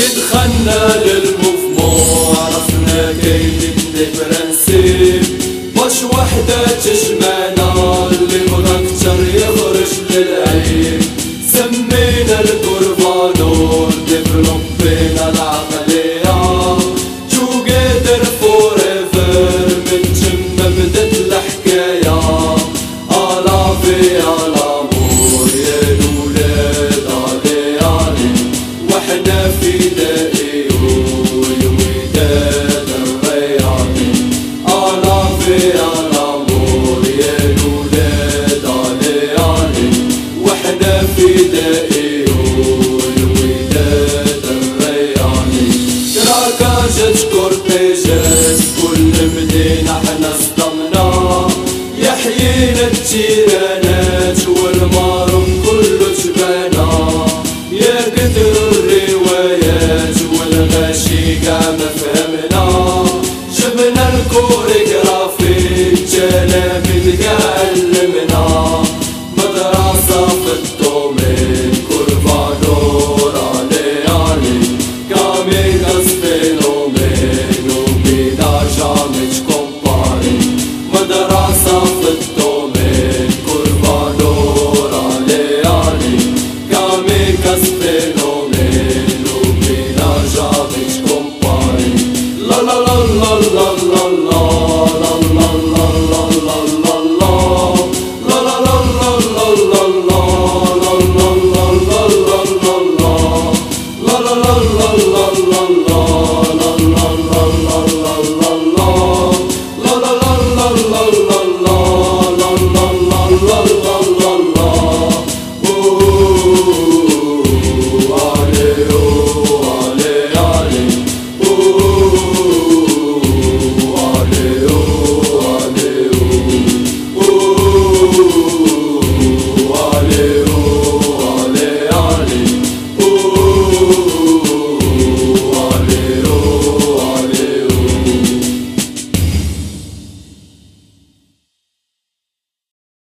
دخلنا للموفمون عرفنا كاين دي برانسيب باش وحدة تجمعنا اللي بغا كتر يخرج للعيب سمينا الكورفانور ديفلوبينا العقلية توغيدر فوريفر من تما بدات الحكاية ألافي ألامور يا الولاد علي علي وحنا فدائي والوداد الرياضي ألافي ألامور يا الولاد علي علي وحنا فدائي والوداد الرياضي كراكاجات كورتيجات كل مدينة حنا صدمنا يحيينا التيرانات والمارون كله جبانا يا كثر الروايات والغاشي قاع ما فهمنا جبنا الكوريغرافي التلاميذ قاع علمنا مدرسة في الدومين كورفانور علي علي كاميكاس فينومين وبيدا جامي تكومباري مدرسة في الدومين كورفانور علي علي كاميكاس فينومين